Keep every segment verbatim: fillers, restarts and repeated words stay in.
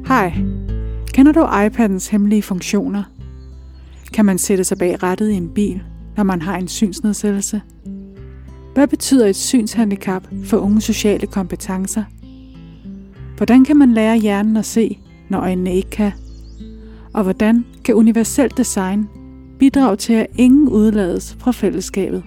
Hej. Kender du iPadens hemmelige funktioner? Kan man sætte sig bag rattet i en bil, når man har en synsnedsættelse? Hvad betyder et synshandicap for unge sociale kompetencer? Hvordan kan man lære hjernen at se, når øjnene ikke kan? Og hvordan kan universelt design bidrage til, at ingen udlades fra fællesskabet?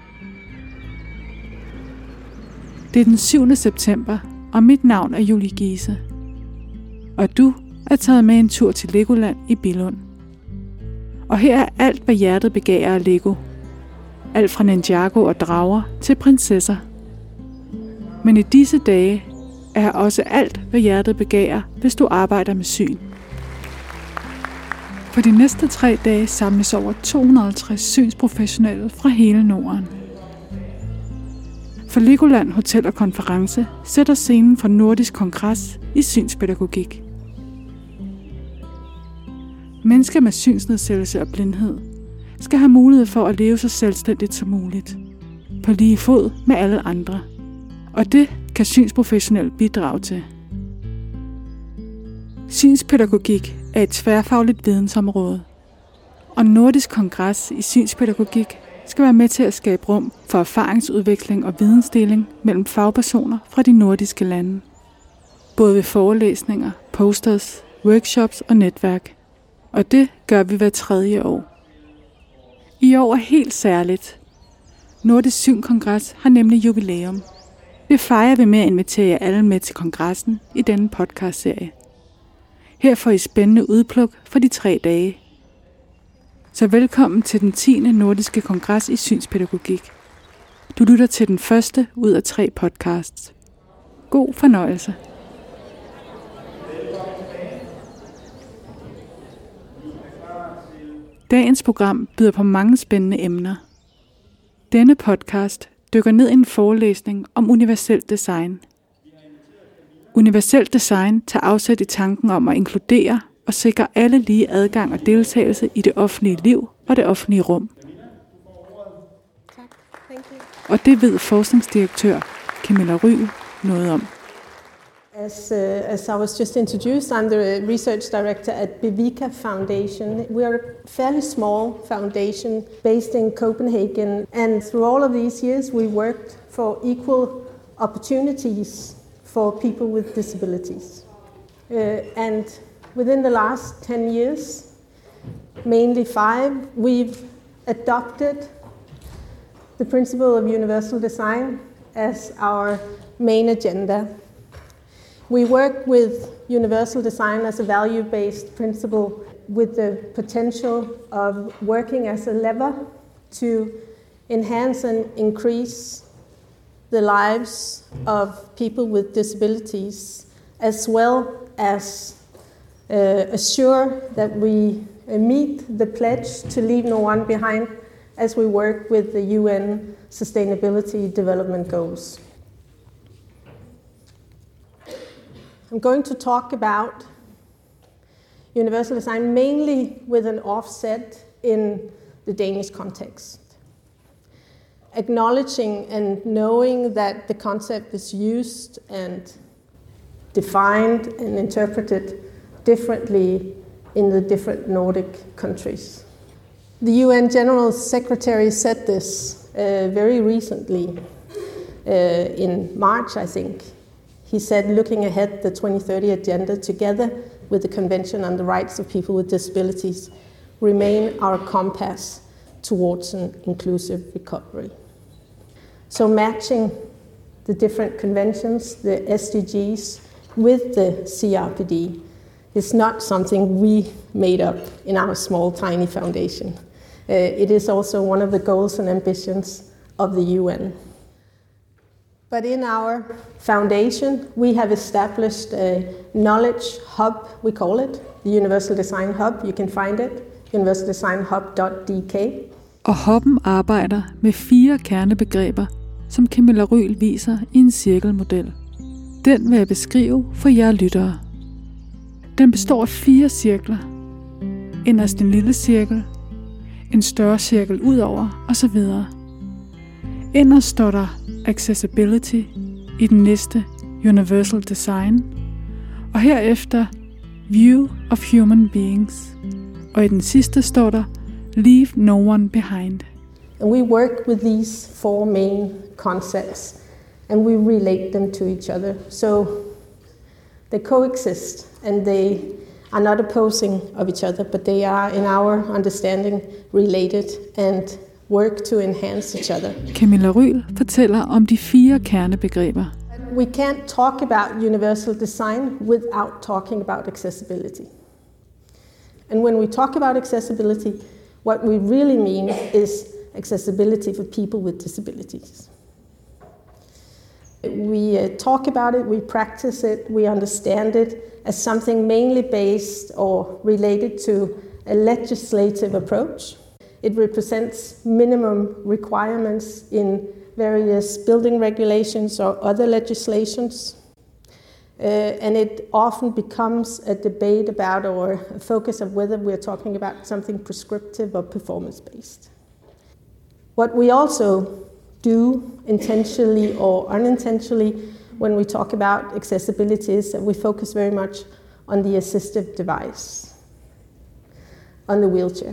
Det er den syvende september, og mit navn er Julie Giese. Og du er taget med en tur til Legoland i Billund. Og her er alt, hvad hjertet begærer af Lego. Alt fra Ninjago og drager til prinsesser. Men i disse dage er her også alt, hvad hjertet begærer, hvis du arbejder med syn. For de næste tre dage samles over to hundrede og halvtreds synsprofessionelle fra hele Norden. For Legoland Hotel og Konference sætter scenen for Nordisk Kongres i synspædagogik. Mennesker med synsnedsættelse og blindhed skal have mulighed for at leve så selvstændigt som muligt, på lige fod med alle andre. Og det kan synsprofessionelle bidrage til. Synspædagogik er et tværfagligt vidensområde, og Nordisk Kongres i synspædagogik skal være med til at skabe rum for erfaringsudveksling og vidensdeling mellem fagpersoner fra de nordiske lande. Både ved forelæsninger, posters, workshops og netværk. Og det gør vi hver tredje år. I år er helt særligt. Nordisk Synkongres har nemlig jubilæum. Det fejrer vi med at invitere jer alle med til kongressen i denne podcastserie. Her får I spændende udpluk for de tre dage. Så velkommen til den tiende nordiske kongres i synspædagogik. Du lytter til den første ud af tre podcasts. God fornøjelse. Dagens program byder på mange spændende emner. Denne podcast dykker ned i en forelæsning om universelt design. Universelt design tager afsæt i tanken om at inkludere og sikre alle lige adgang og deltagelse i det offentlige liv og det offentlige rum. Og det ved forskningsdirektør Camilla Ryl noget om. As, uh, as I was just introduced, I'm the research director at Bevika Foundation. We are a fairly small foundation based in Copenhagen, and through all of these years we worked for equal opportunities for people with disabilities. Uh, and within the last ten years, mainly five, we've adopted the principle of universal design as our main agenda. We work with universal design as a value-based principle with the potential of working as a lever to enhance and increase the lives of people with disabilities, as well as uh, assure that we uh, meet the pledge to leave no one behind as we work with the U N Sustainability Development Goals. I'm going to talk about universal design mainly with an offset in the Danish context. Acknowledging and knowing that the concept is used and defined and interpreted differently in the different Nordic countries. The U N General Secretary said this uh, very recently, uh, in March, I think. He said, looking ahead, the twenty thirty agenda, together with the Convention on the Rights of People with Disabilities, remain our compass towards an inclusive recovery. So matching the different conventions, the S D Gs, with the C R P D is not something we made up in our small, tiny foundation. Uh, it is also one of the goals and ambitions of the U N. But in our foundation, we have established a knowledge hub, we call it, the Universal Design Hub. You can find it, universal design hub dot d k. Og hubben arbejder med fire kernebegreber, som Camilla Ryl viser i en cirkelmodel. Den vil jeg beskrive for jer lyttere. Den består af fire cirkler. Inderst en lille cirkel, en større cirkel udover osv. Inderst står der accessibility, i den næste universal design, og herefter View of Human Beings. Og i den sidste står der Leave No One Behind. And we work with these four main concepts and we relate them to each other. So they coexist and they are not opposing of each other, but they are, in our understanding, related and work to enhance each other. Camilla Ryhl fortæller om de fire kernebegreber. We can't talk about universal design without talking about accessibility. And when we talk about accessibility, what we really mean is accessibility for people with disabilities. We uh, talk about it, we practice it, we understand it as something mainly based or related to a legislative approach. It represents minimum requirements in various building regulations or other legislations. Uh, and it often becomes a debate about or a focus of whether we're talking about something prescriptive or performance-based. What we also do intentionally or unintentionally when we talk about accessibility is that we focus very much on the assistive device, on the wheelchair,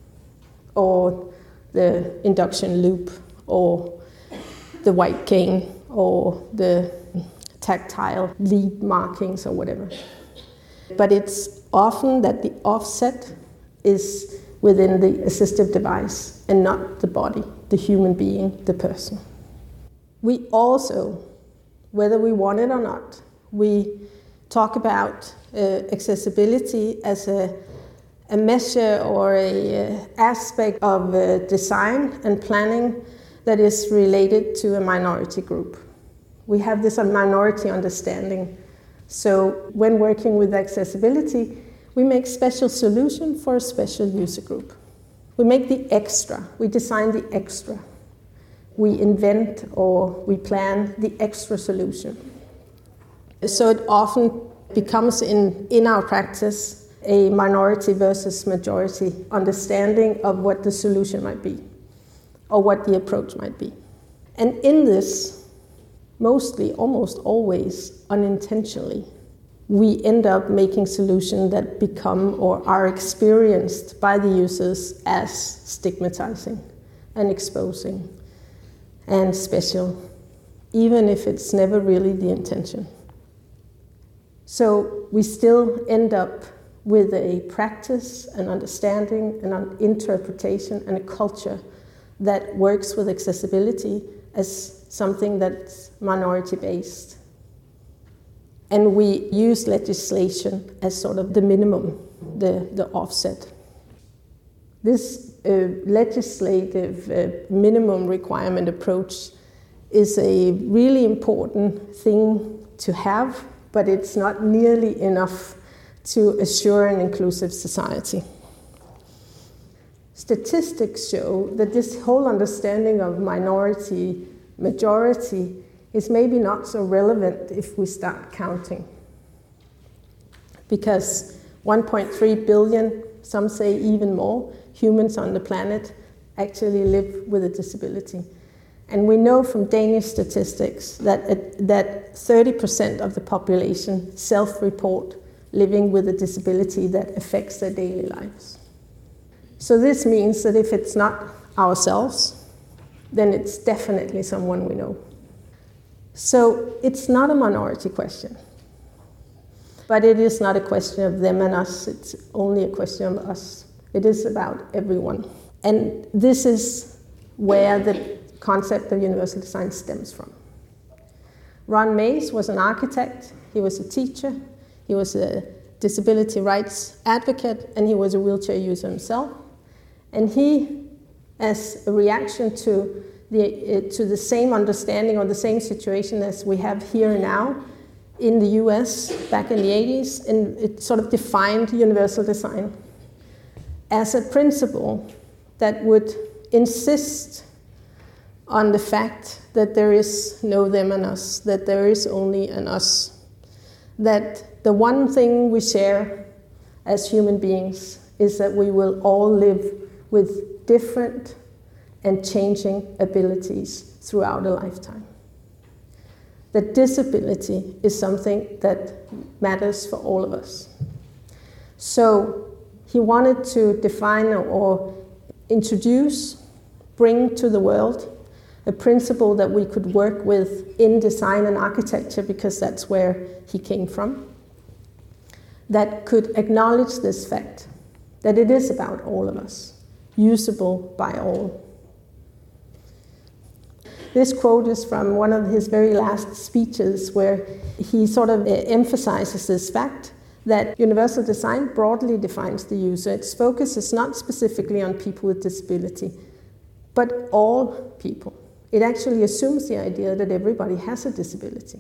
or the induction loop, or the white cane, or the tactile lead markings or whatever. But it's often that the offset is within the assistive device and not the body, the human being, the person. We also, whether we want it or not, we talk about uh, accessibility as a, a measure or a uh, aspect of uh, design and planning that is related to a minority group. We have this minority understanding. So when working with accessibility, we make special solution for a special user group. We make the extra, we design the extra. We invent or we plan the extra solution. So it often becomes in, in our practice a minority versus majority understanding of what the solution might be or what the approach might be. And in this, mostly, almost always unintentionally, we end up making solutions that become or are experienced by the users as stigmatizing and exposing and special, even if it's never really the intention. So we still end up with a practice, an understanding, an interpretation, and a culture that works with accessibility as something that's minority-based. And we use legislation as sort of the minimum, the, the offset. This uh, legislative uh, minimum requirement approach is a really important thing to have, but it's not nearly enough to assure an inclusive society. Statistics show that this whole understanding of minority, majority is maybe not so relevant if we start counting. Because one point three billion, some say even more, humans on the planet actually live with a disability. And we know from Danish statistics that, that thirty percent of the population self-report living with a disability that affects their daily lives. So this means that if it's not ourselves, then it's definitely someone we know. So it's not a minority question, but it is not a question of them and us, it's only a question of us. It is about everyone. And this is where the concept of universal design stems from. Ron Mays was an architect, he was a teacher, he was a disability rights advocate, and he was a wheelchair user himself. And he, as a reaction to the, uh, to the same understanding or the same situation as we have here now in the U S back in the eighties, and it sort of defined universal design as a principle that would insist on the fact that there is no them and us, that there is only an us, that the one thing we share as human beings is that we will all live with different and changing abilities throughout a lifetime. That disability is something that matters for all of us. So he wanted to define or introduce, bring to the world a principle that we could work with in design and architecture, because that's where he came from, that could acknowledge this fact, that it is about all of us, usable by all. This quote is from one of his very last speeches, where he sort of emphasizes this fact that universal design broadly defines the user. Its focus is not specifically on people with disability, but all people. It actually assumes the idea that everybody has a disability.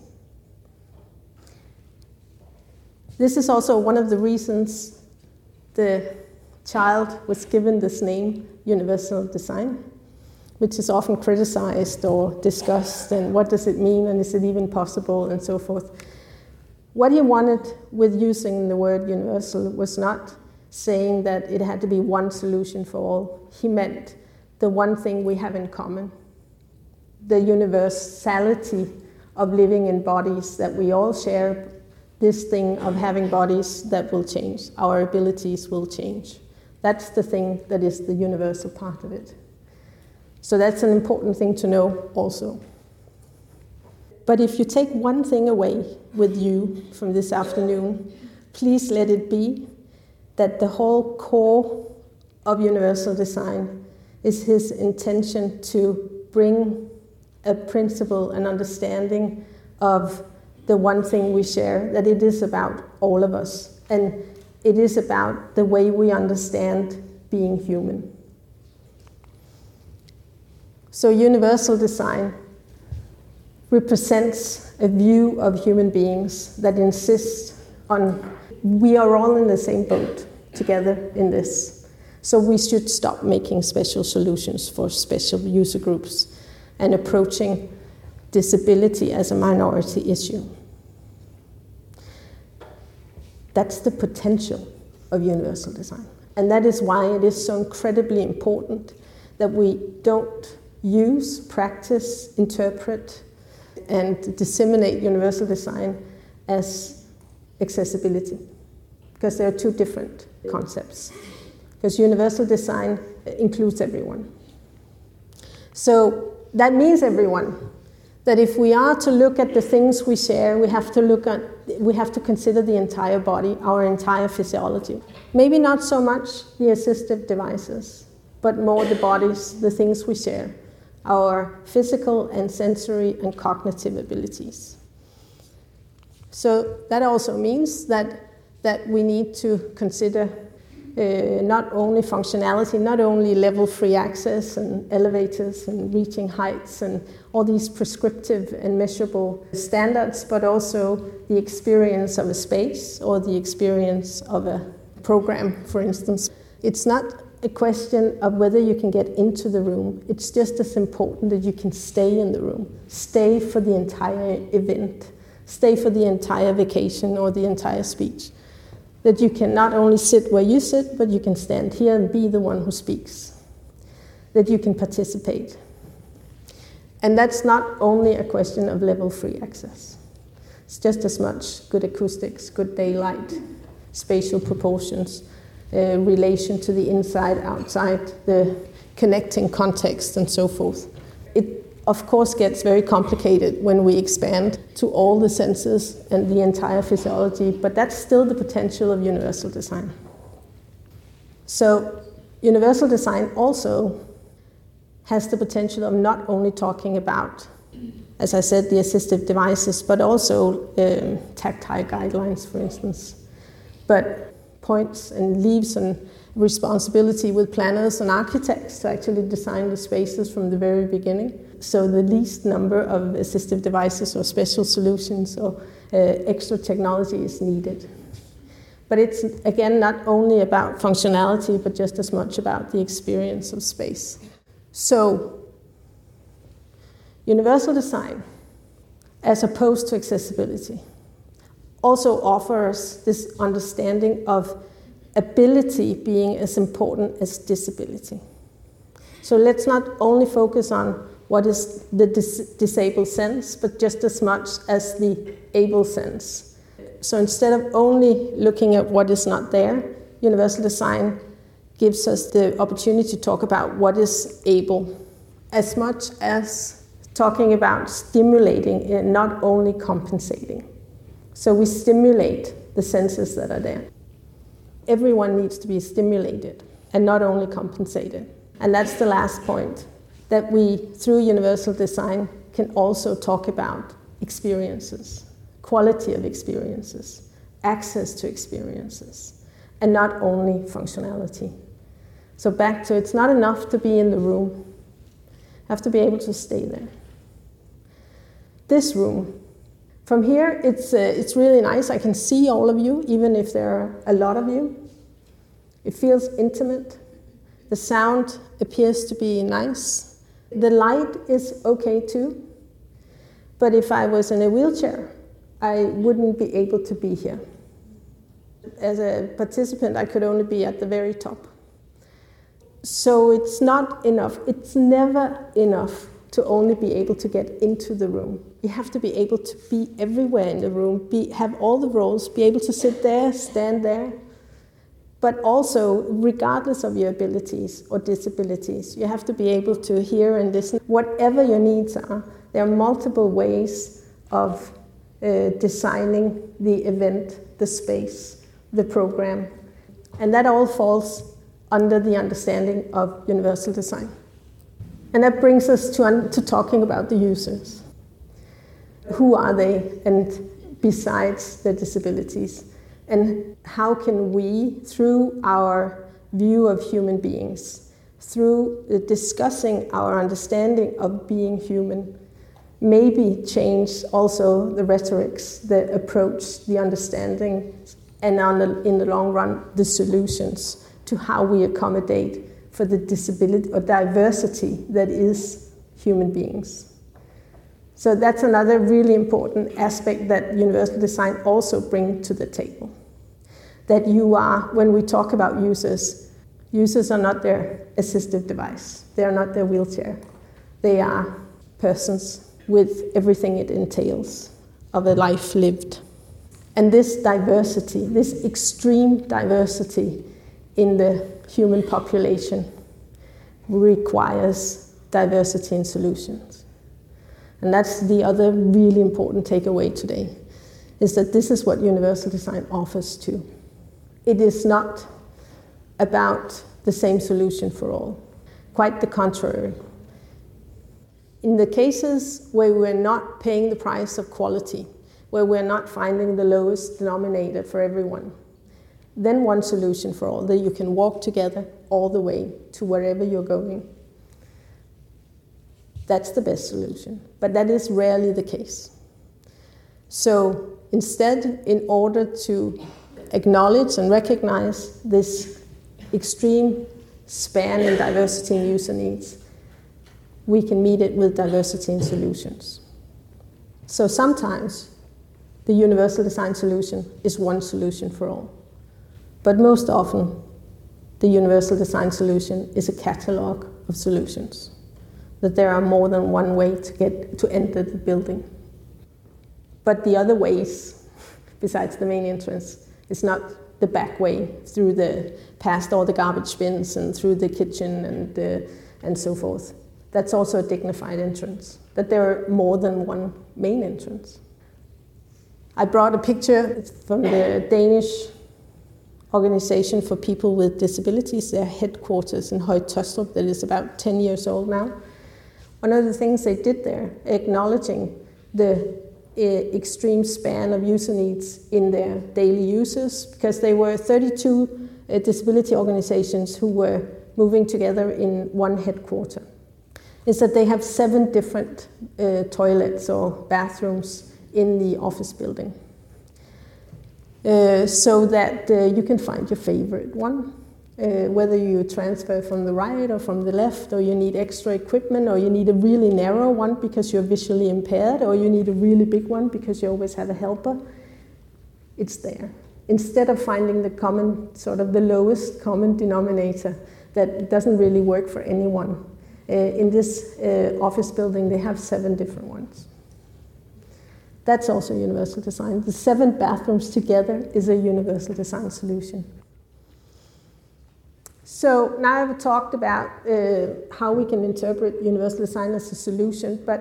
This is also one of the reasons the child was given this name, universal design, which is often criticized or discussed, and what does it mean, and is it even possible, and so forth. What he wanted with using the word universal was not saying that it had to be one solution for all. He meant the one thing we have in common, the universality of living in bodies, that we all share this thing of having bodies that will change. Our abilities will change. That's the thing that is the universal part of it. So that's an important thing to know also. But if you take one thing away with you from this afternoon, please let it be that the whole core of universal design is his intention to bring a principle, an understanding of the one thing we share, that it is about all of us. And it is about the way we understand being human. So universal design represents a view of human beings that insists on we are all in the same boat together in this. So we should stop making special solutions for special user groups and approaching disability as a minority issue. That's the potential of universal design. And that is why it is so incredibly important that we don't use, practice, interpret, and disseminate universal design as accessibility, because there are two different concepts. Because universal design includes everyone. So that means everyone. That if we are to look at the things we share, we have to look at, we have to consider the entire body, our entire physiology. Maybe not so much the assistive devices, but more the bodies, the things we share, our physical and sensory and cognitive abilities. So that also means that, that we need to consider uh, not only functionality, not only level-free access and elevators and reaching heights and all these prescriptive and measurable standards, but also the experience of a space or the experience of a program, for instance. It's not a question of whether you can get into the room. It's just as important that you can stay in the room, stay for the entire event, stay for the entire vacation or the entire speech. That you can not only sit where you sit, but you can stand here and be the one who speaks. That you can participate. And that's not only a question of level-free access. It's just as much good acoustics, good daylight, spatial proportions, uh, relation to the inside, outside, the connecting context, and so forth. It, of course, gets very complicated when we expand to all the senses and the entire physiology, but that's still the potential of universal design. So, universal design also has the potential of not only talking about, as I said, the assistive devices, but also um, tactile guidelines, for instance. But points and leaves and responsibility with planners and architects to actually design the spaces from the very beginning. So the least number of assistive devices or special solutions or uh, extra technology is needed. But it's, again, not only about functionality, but just as much about the experience of space. So, universal design, as opposed to accessibility, also offers this understanding of ability being as important as disability. So let's not only focus on what is the dis- disabled sense, but just as much as the able sense. So instead of only looking at what is not there, universal design gives us the opportunity to talk about what is able, as much as talking about stimulating and not only compensating. So we stimulate the senses that are there. Everyone needs to be stimulated and not only compensated. And that's the last point, that we, through universal design, can also talk about experiences, quality of experiences, access to experiences, and not only functionality. So back to, it's not enough to be in the room. You have to be able to stay there. This room, from here, it's, uh, it's really nice. I can see all of you, even if there are a lot of you. It feels intimate. The sound appears to be nice. The light is okay too. But if I was in a wheelchair, I wouldn't be able to be here. As a participant, I could only be at the very top. So it's not enough. It's never enough to only be able to get into the room. You have to be able to be everywhere in the room, be, have all the roles, be able to sit there, stand there. But also, regardless of your abilities or disabilities, you have to be able to hear and listen. Whatever your needs are, there are multiple ways of uh, designing the event, the space, the program. And that all falls under the understanding of universal design. And that brings us to, un- to talking about the users. Who are they, and besides their disabilities? And how can we, through our view of human beings, through discussing our understanding of being human, maybe change also the rhetorics, the approach, the understanding, and on the, in the long run, the solutions to how we accommodate for the disability or diversity that is human beings. So that's another really important aspect that universal design also brings to the table. That you are, when we talk about users, users are not their assistive device. They are not their wheelchair. They are persons with everything it entails of a life lived. And this diversity, this extreme diversity in the human population requires diversity in solutions. And that's the other really important takeaway today, is that this is what universal design offers too. It is not about the same solution for all. Quite the contrary. In the cases where we're not paying the price of quality, where we're not finding the lowest denominator for everyone, then one solution for all, that you can walk together all the way to wherever you're going. That's the best solution, but that is rarely the case. So instead, in order to acknowledge and recognize this extreme span in diversity and user needs, we can meet it with diversity in solutions. So sometimes the universal design solution is one solution for all. But most often, the universal design solution is a catalog of solutions. That there are more than one way to get to enter the building. But the other ways, besides the main entrance, is not the back way through the past all the garbage bins and through the kitchen and uh, and so forth. That's also a dignified entrance. That there are more than one main entrance. I brought a picture from the Danish Organization for People with Disabilities, their headquarters in Høje Taastrup, that is about ten years old now. One of the things they did there, acknowledging the uh, extreme span of user needs in their daily uses, because they were thirty-two uh, disability organizations who were moving together in one headquarter, is that they have seven different uh, toilets or bathrooms in the office building. Uh, so that uh, you can find your favorite one, uh, whether you transfer from the right or from the left, or you need extra equipment, or you need a really narrow one because you're visually impaired, or you need a really big one because you always have a helper. It's there. Instead of finding the common, sort of the lowest common denominator that doesn't really work for anyone, uh, in this uh, office building they have seven different ones. That's also universal design. The seven bathrooms together is a universal design solution. So now I've talked about uh, how we can interpret universal design as a solution, but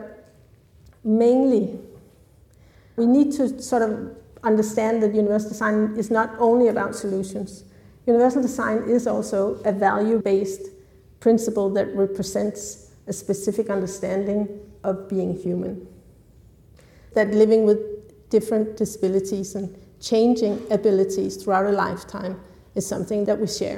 mainly we need to sort of understand that universal design is not only about solutions. Universal design is also a value-based principle that represents a specific understanding of being human. That living with different disabilities and changing abilities throughout a lifetime is something that we share.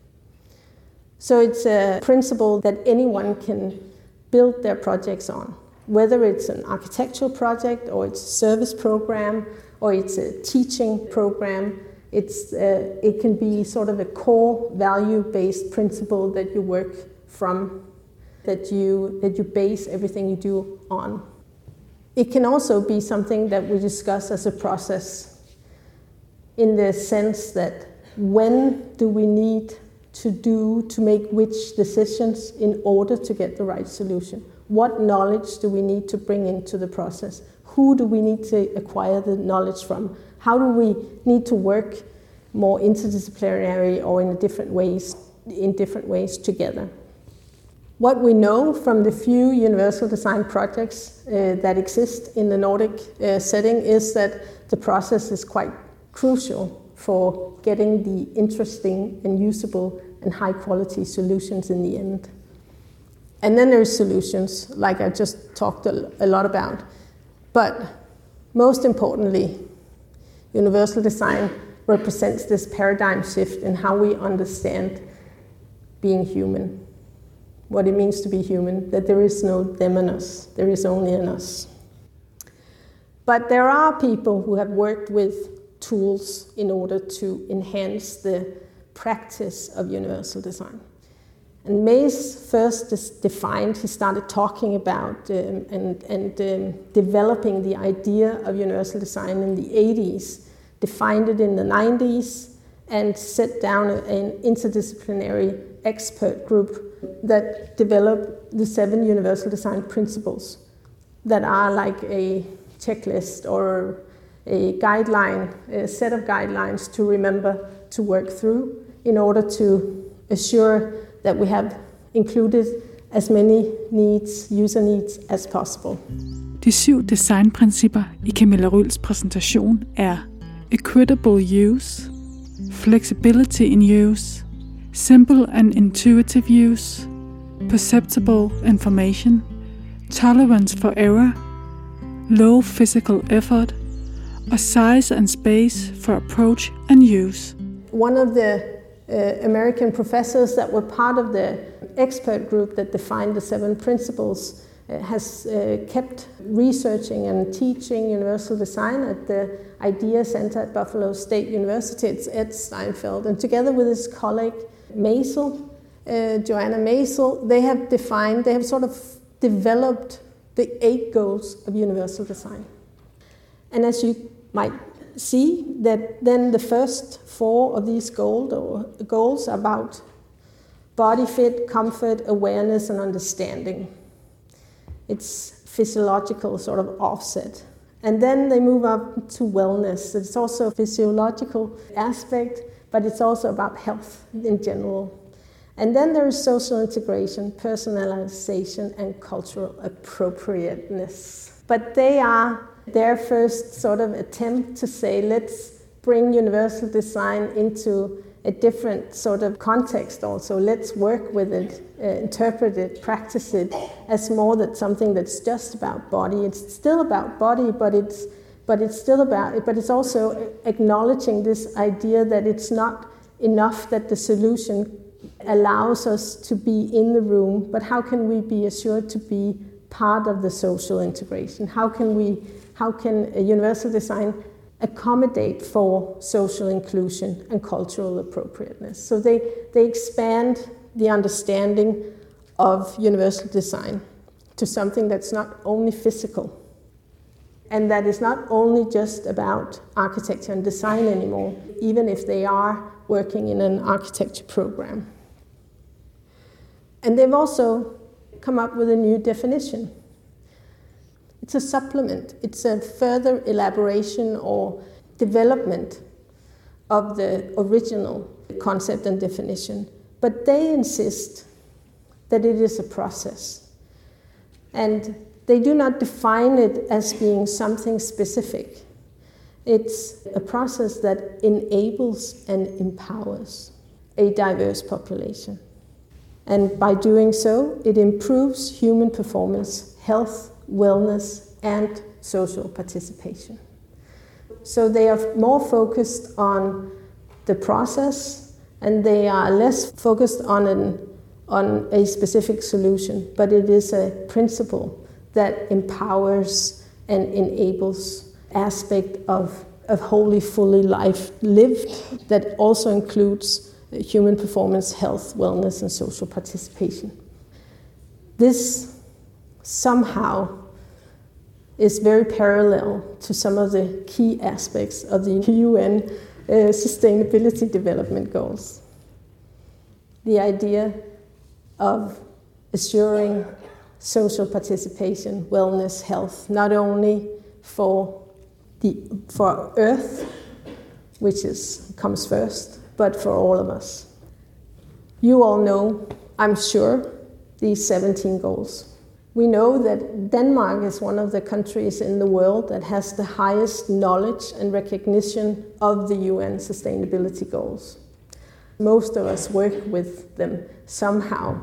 So it's a principle that anyone can build their projects on, whether it's an architectural project or it's a service program or it's a teaching program. It's, uh, it can be sort of a core value-based principle that you work from, that you, that you base everything you do on. It can also be something that we discuss as a process, in the sense that when do we need to do, to make which decisions in order to get the right solution? What knowledge do we need to bring into the process? Who do we need to acquire the knowledge from? How do we need to work more interdisciplinary or in different ways, in different ways together? What we know from the few universal design projects uh, that exist in the Nordic uh, setting is that the process is quite crucial for getting the interesting and usable and high quality solutions in the end. And then there's solutions, like I just talked a lot about. But most importantly, universal design represents this paradigm shift in how we understand being human. What it means to be human, that there is no them and us, there is only an us. But there are people who have worked with tools in order to enhance the practice of universal design. And Mayes first defined, he started talking about um, and, and um, developing the idea of universal design in the eighties, defined it in the nineties, and set down an interdisciplinary expert group that developed the seven universal design principles that are like a checklist or a guideline, a set of guidelines to remember to work through in order to assure that we have included as many needs, user needs as possible. De syv designprincipper i Camilla Ryls præsentation er equitable use, flexibility in use, simple and intuitive use, perceptible information, tolerance for error, low physical effort, og size and space for approach and use. One of the uh, American professors that were part of the expert group that defined the seven principles uh, has uh, kept researching and teaching universal design at the IDEA Center at Buffalo State University. It's Ed Steinfeld, and together with his colleague Maisel, uh, Joanna Maisel, they have defined, they have sort of developed the eight goals of universal design. And as you might see, that then the first four of these goals, or goals are about body fit, comfort, awareness, and understanding. It's physiological sort of offset. And then they move up to wellness. It's also a physiological aspect, but it's also about health in general. And then there is social integration, personalization, and cultural appropriateness. But they are their first sort of attempt to say, let's bring universal design into a different sort of context also. Let's work with it, uh, interpret it, practice it as more than something that's just about body. It's still about body, but it's but it's still about it. But it's also acknowledging this idea that it's not enough that the solution allows us to be in the room, but how can we be assured to be part of the social integration? How can we, how can a universal design accommodate for social inclusion and cultural appropriateness? So they, they expand the understanding of universal design to something that's not only physical, and that is not only just about architecture and design anymore, even if they are working in an architecture program. And they've also come up with a new definition. It's a supplement. It's a further elaboration or development of the original concept and definition. But they insist that it is a process. And they do not define it as being something specific. It's a process that enables and empowers a diverse population. And by doing so, it improves human performance, health, wellness, and social participation. So they are more focused on the process, and they are less focused on an, on a specific solution, but it is a principle that empowers and enables aspect of a wholly, fully life lived that also includes human performance, health, wellness, and social participation. This somehow is very parallel to some of the key aspects of the U N uh, Sustainability Development Goals. The idea of assuring social participation, wellness, health, not only for the for Earth, which is comes first, but for all of us. You all know, I'm sure, these seventeen goals. We know that Denmark is one of the countries in the world that has the highest knowledge and recognition of the U N Sustainability Goals. Most of us work with them somehow.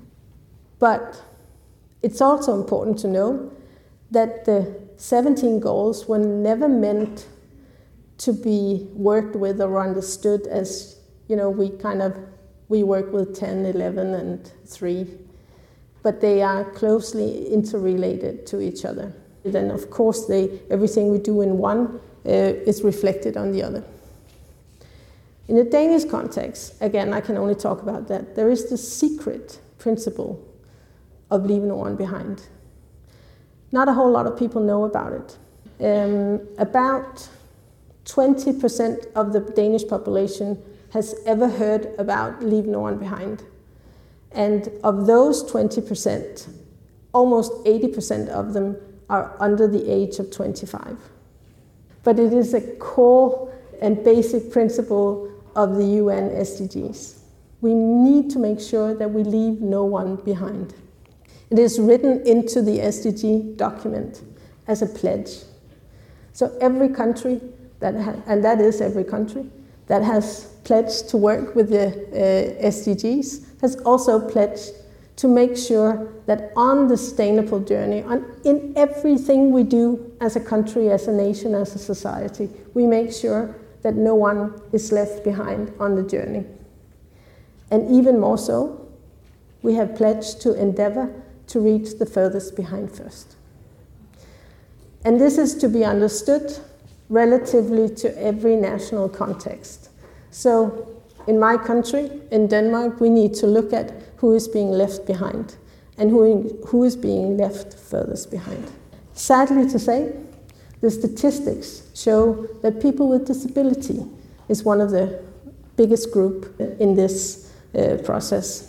But it's also important to know that the seventeen goals were never meant to be worked with or understood as, you know, we kind of, we work with ten, eleven, and three. But they are closely interrelated to each other. Then, of course, they, everything we do in one uh, is reflected on the other. In the Danish context, again, I can only talk about that, there is the secret principle of leave no one behind. Not a whole lot of people know about it. Um, about twenty percent of the Danish population has ever heard about leave no one behind. And of those twenty percent, almost eighty percent of them are under the age of twenty-five. But it is a core and basic principle of the U N S D Gs. We need to make sure that we leave no one behind. It is written into the S D G document as a pledge. So every country, that ha- and that is every country, that has pledged to work with the uh, S D Gs has also pledged to make sure that on the sustainable journey, on, in everything we do as a country, as a nation, as a society, we make sure that no one is left behind on the journey. And even more so, we have pledged to endeavor to reach the furthest behind first. And this is to be understood relatively to every national context. So in my country, in Denmark, we need to look at who is being left behind and who, who is being left furthest behind. Sadly to say, the statistics show that people with disability is one of the biggest group in this uh, process.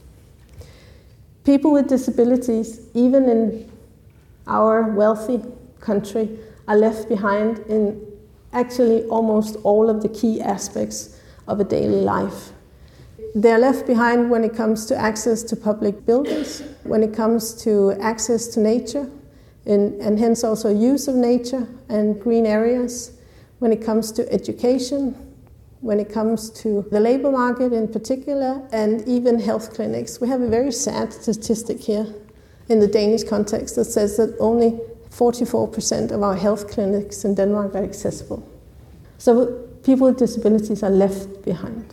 People with disabilities, even in our wealthy country, are left behind in actually almost all of the key aspects of a daily life. They're left behind when it comes to access to public buildings, when it comes to access to nature, and, and hence also use of nature and green areas, when it comes to education, when it comes to the labor market in particular, and even health clinics. We have a very sad statistic here in the Danish context that says that only forty-four percent of our health clinics in Denmark are accessible. So people with disabilities are left behind.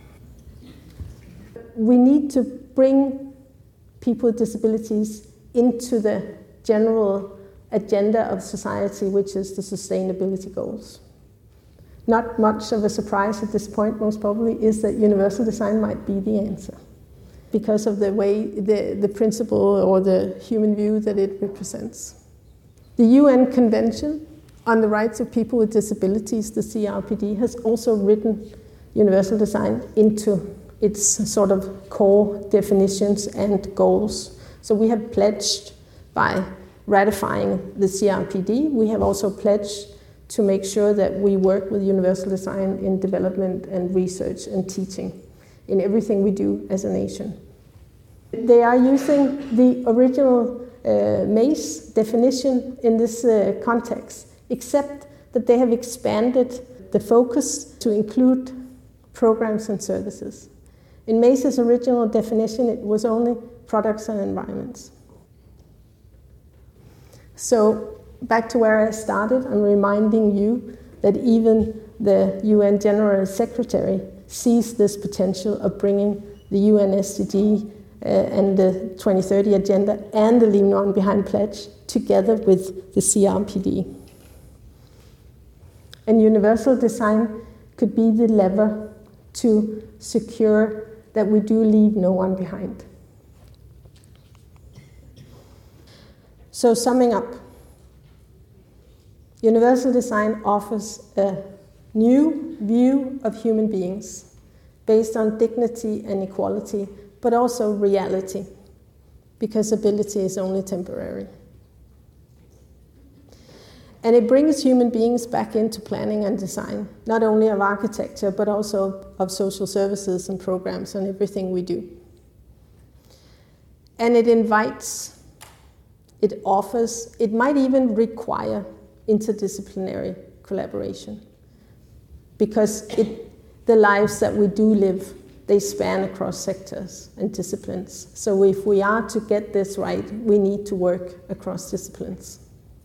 We need to bring people with disabilities into the general agenda of society, which is the sustainability goals. Not much of a surprise at this point, most probably, is that universal design might be the answer because of the way, the, the principle or the human view that it represents. The U N Convention on the Rights of People with Disabilities, the C R P D, has also written universal design into its sort of core definitions and goals. So we have pledged by ratifying the C R P D, we have also pledged to make sure that we work with universal design in development and research and teaching in everything we do as a nation. They are using the original uh, M A C E definition in this uh, context, except that they have expanded the focus to include programs and services. In M A C E's original definition, it was only products and environments. So back to where I started, I'm reminding you that even the U N General Secretary sees this potential of bringing the U N S D G uh, and the twenty thirty Agenda and the Leave No One Behind Pledge together with the C R P D. And universal design could be the lever to secure that we do leave no one behind. So summing up, universal design offers a new view of human beings based on dignity and equality, but also reality, because ability is only temporary. And it brings human beings back into planning and design, not only of architecture, but also of social services and programs and everything we do. And it invites, it offers, it might even require interdisciplinary collaboration, because it, the lives that we do live, they span across sectors and disciplines. So if we are to get this right, we need to work across disciplines.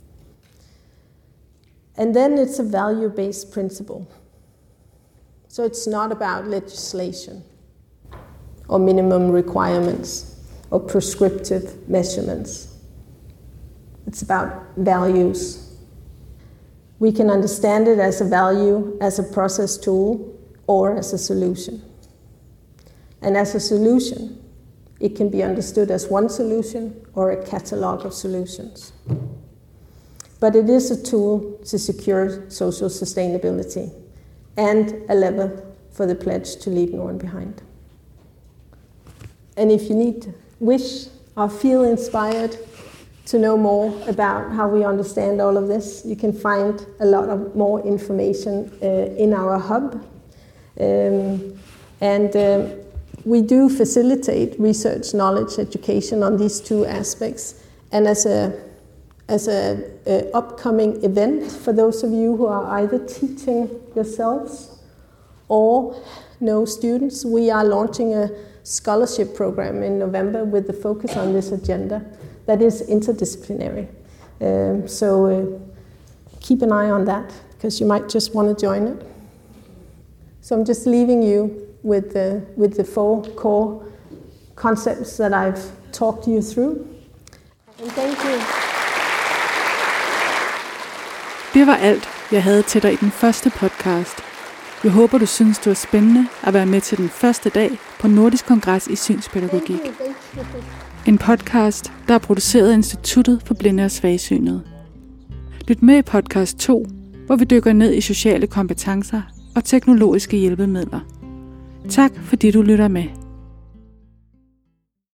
And then it's a value-based principle. So it's not about legislation or minimum requirements or prescriptive measurements. It's about values. We can understand it as a value, as a process tool, or as a solution. And as a solution, it can be understood as one solution or a catalog of solutions. But it is a tool to secure social sustainability and a lever for the pledge to leave no one behind. And if you need, wish, or feel inspired to know more about how we understand all of this, you can find a lot of more information uh, in our hub. Um, and um, we do facilitate research, knowledge, education on these two aspects. And as a As an upcoming event for those of you who are either teaching yourselves or know students, we are launching a scholarship program in November with the focus on this agenda that is interdisciplinary. Um, so uh, keep an eye on that, because you might just want to join it. So I'm just leaving you with the, with the four core concepts that I've talked you through. And thank you. Det var alt, jeg havde til dig i den første podcast. Jeg håber, du synes, det var spændende at være med til den første dag på Nordisk Kongres i Synspædagogik. En podcast, der er produceret af Instituttet for Blinde og Svagsynede. Lyt med i podcast to, hvor vi dykker ned i sociale kompetencer og teknologiske hjælpemidler. Tak fordi du lytter med.